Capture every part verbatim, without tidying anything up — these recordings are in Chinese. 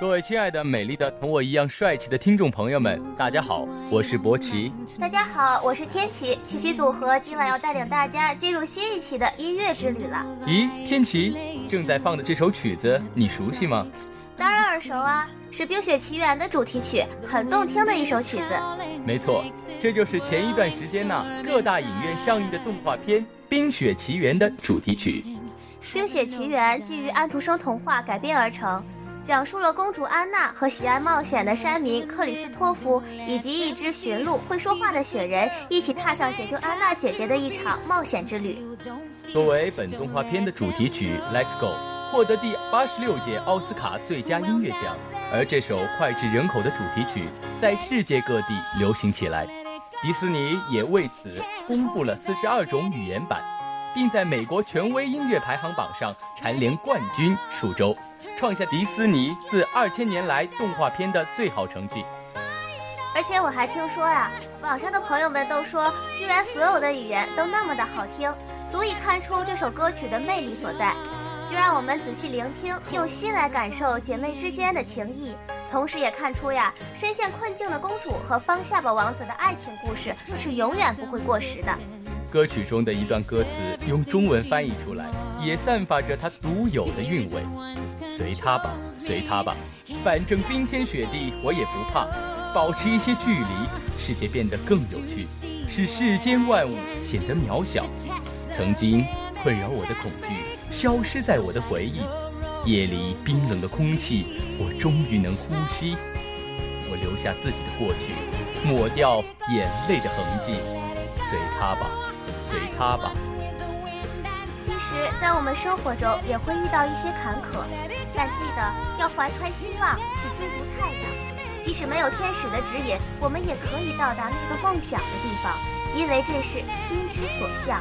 各位亲爱的、美丽的、同我一样帅气的听众朋友们，大家好，我是博奇。 大家好，我是天琪。奇奇组合今晚要带领大家进入新一期的音乐之旅了。 咦，天琪，正在放的这首曲子你熟悉吗？ 当然耳熟啊，是《冰雪奇缘》的主题曲，很动听的一首曲子。 没错，这就是前一段时间呢、啊、各大影院上映的动画片《冰雪奇缘》的主题曲。 《冰雪奇缘》基于安徒生童话改编而成，讲述了公主安娜和喜爱冒险的山民克里斯托夫以及一只驯鹿会说话的雪人一起踏上解救安娜姐姐的一场冒险之旅。 作为本动画片的主题曲 Let's Go 获得第八十六届奥斯卡最佳音乐奖，而这首脍炙人口的主题曲在世界各地流行起来，迪士尼也为此公布了四十二种语言版，并在美国权威音乐排行榜上蝉联冠军数周，创下迪士尼自二千年来动画片的最好成绩。 而且我还听说呀、啊，网上的朋友们都说，居然所有的语言都那么的好听，足以看出这首歌曲的魅力所在。就让我们仔细聆听，用心来感受姐妹之间的情谊，同时也看出呀，深陷困境的公主和方夏巴王子的爱情故事是永远不会过时的。 歌曲中的一段歌词用中文翻译出来，也散发着它独有的韵味。随他吧，随他吧，反正冰天雪地我也不怕，保持一些距离，世界变得更有趣，使世间万物显得渺小。曾经困扰我的恐惧消失在我的回忆，夜里冰冷的空气，我终于能呼吸。我留下自己的过去，抹掉眼泪的痕迹。随他吧，随他吧。 其实在我们生活中也会遇到一些坎坷，但记得要怀揣希望去追逐太阳。即使没有天使的指引，我们也可以到达那个梦想的地方，因为这是心之所向。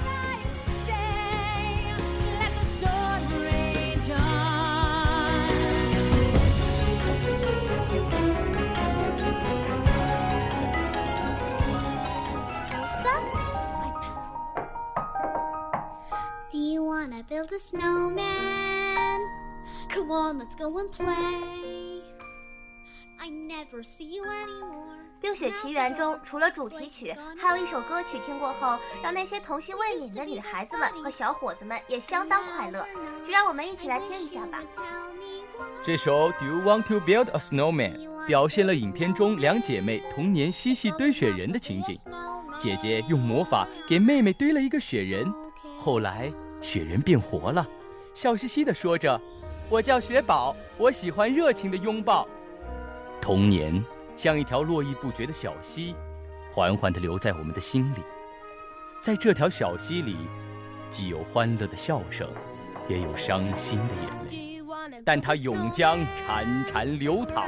I build a snowman. Come on, let's go and play. I never see you anymore. 冰雪奇缘中除了主题曲，还有一首歌曲听过后让那些童心未泯的女孩子们和小伙子们也相当快乐，就让我们一起来听一下吧。 这首 Do You Want to Build a Snowman 表现了影片中两姐妹童年嬉戏堆雪人的情景。姐姐用魔法给妹妹堆了一个雪人，后来雪人变活了，笑嘻嘻地说着，我叫雪宝，我喜欢热情的拥抱。童年像一条络绎不绝的小溪，缓缓地流在我们的心里。在这条小溪里，既有欢乐的笑声，也有伤心的眼泪，但它永将潺潺流淌。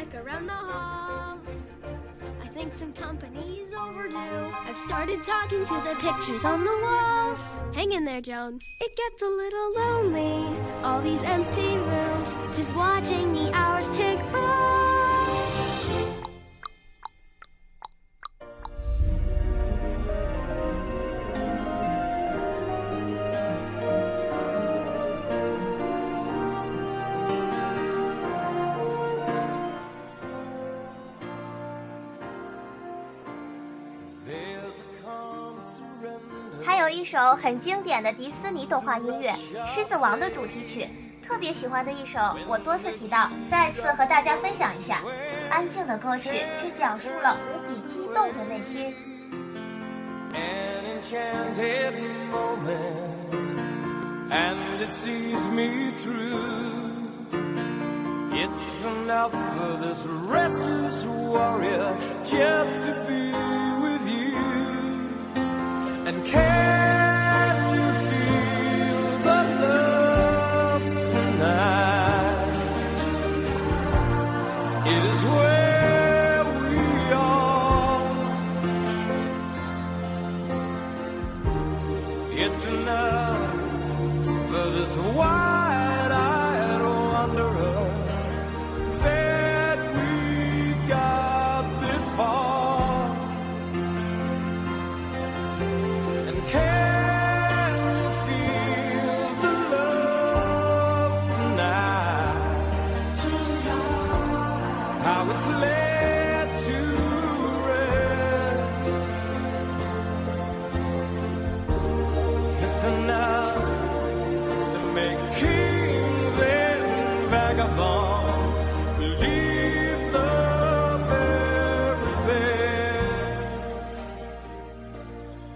I think some company's overdue. I've started talking to the pictures on the walls. Hang in there, Joan. It gets a little lonely, all these empty rooms, just watching the hours tick by. There's a calm surrender. 还有一首很经典的迪士尼动画音乐《狮子王》的主题曲，特别喜欢的一首，我多次提到，再次和大家分享一下。安静的歌曲却讲述了无比激动的内心。 An enchanted moment, and it sees me through. It's enough for this restless warrior just to be with you. And can you feel the love tonight? It is where we are. It's enough for this wide-eyed wanderer that we got this far.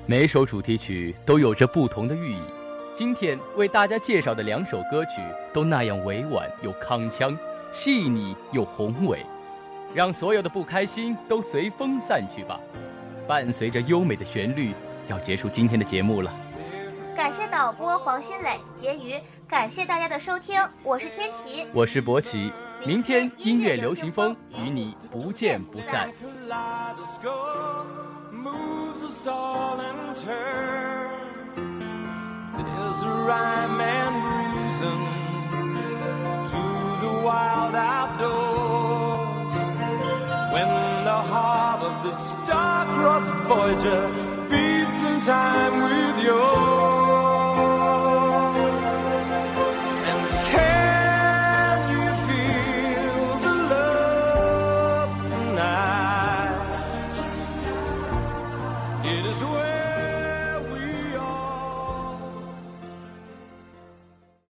每首主题曲都有着不同的寓意。今天为大家介绍的两首歌曲都那样委婉又铿锵，细腻又宏伟，让所有的不开心都随风散去吧。伴随着优美的旋律，要结束今天的节目了。 感谢导播黄新磊、婕妤，感谢大家的收听，我是天琪， 我是博奇，明天音乐流行风与你不见不散。 There's a rhyme and reason to the wild outdoors. When the heart of the star-crossed Voyager beats in time